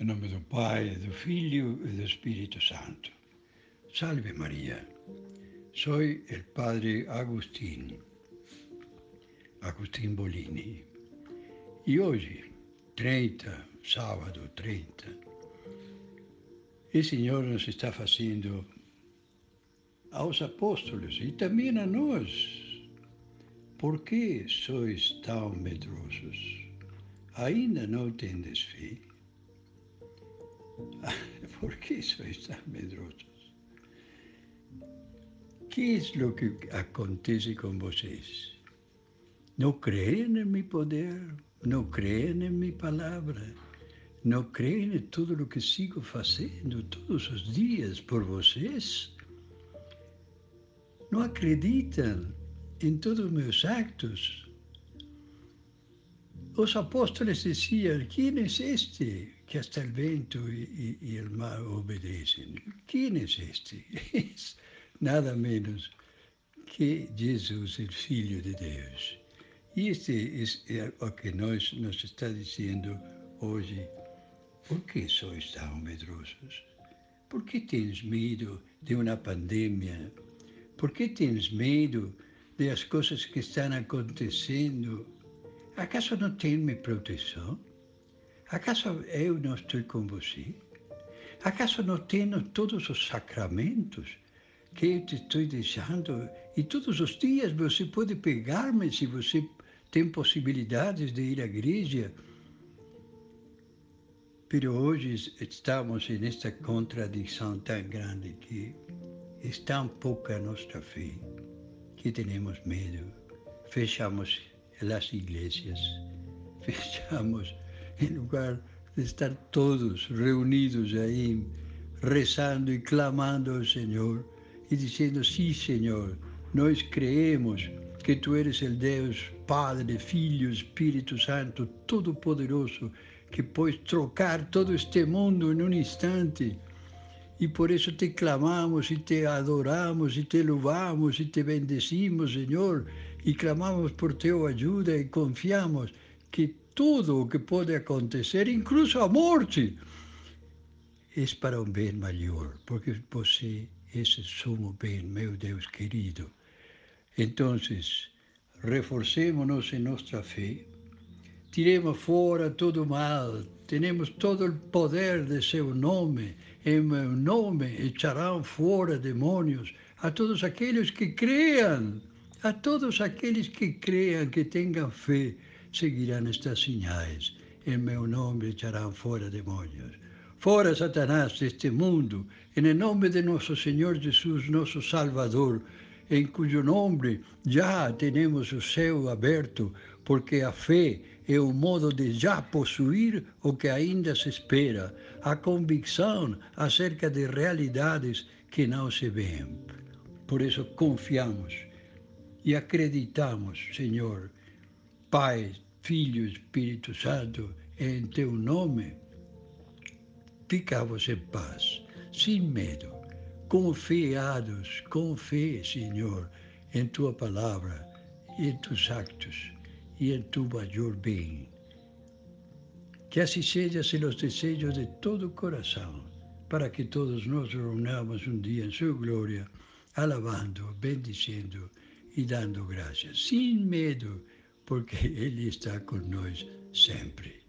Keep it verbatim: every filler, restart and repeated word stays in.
Em nome do Pai, do Filho e do Espírito Santo. Salve María. Soy el Padre Agustín, Agustín Bolini. E hoje, trinta, sábado trinta, o Senhor nos está fazendo aos apóstolos e também a nós. Por que sois tão medrosos? Ainda não tendes fé? ¿Por qué sois tan medrosos? ¿Qué es lo que acontece con vocês? ¿No creen en mi poder? ¿No creen en mi palabra? ¿No creen en todo lo que sigo haciendo todos os dias por vocês? ¿No acreditam em todos os meus actos? Os apóstolos diziam: quem é este que hasta el vento e, e, e o mar obedecem? Quem é este? É nada menos que Jesus, o Filho de Deus. E este é o que nós nos está dizendo hoje. Por que sois tão medrosos? Por que tens medo de uma pandemia? Por que tens medo das coisas que estão acontecendo? Acaso não tem minha proteção? Acaso eu não estou com você? Acaso não tenho todos os sacramentos que eu te estou deixando? E todos os dias você pode pegar-me se você tem possibilidades de ir à igreja. Mas hoje estamos nesta contradição tão grande que é tão pouca a nossa fé que temos medo. Fechamos as igrejas, fechamos em lugar de estar todos reunidos aí, rezando e clamando ao Senhor e dizendo: sim, Senhor, nós creemos que Tu eres o Deus Padre, Filho, Espírito Santo, Todo-Poderoso, que pode trocar todo este mundo em um instante. E por isso te clamamos e te adoramos e te louvamos e te bendecimos, Senhor, e clamamos por Tua ajuda e confiamos que tudo o que pode acontecer, incluso a morte, é para um bem maior, porque você é esse sumo bem, meu Deus querido. Então, reforcemos-nos em nossa fé, tiremos fora todo o mal, temos todo o poder de Seu nome, em meu nome echarão fora demônios a todos aqueles que creiam, a todos aqueles que creiam, que tenham fé, seguirão estas sinais. Em meu nome echarão fora demônios. Fora Satanás deste mundo, em nome de nosso Senhor Jesus, nosso Salvador, em cujo nome já temos o céu aberto, porque a fé é o modo de já possuir o que ainda se espera, a convicção acerca de realidades que não se veem. Por isso confiamos e acreditamos, Senhor, Pai, Filho, Espírito Santo, em Teu nome. Ficamos em paz, sem medo, confiados, com fé, Senhor, em Tua palavra, em Tus actos e em Tu maior bem. Que assim seja se os desejos de todo o coração, para que todos nós reunamos um dia em Sua glória, alabando, bendizendo e dando graças, sem medo, porque Ele está conosco sempre.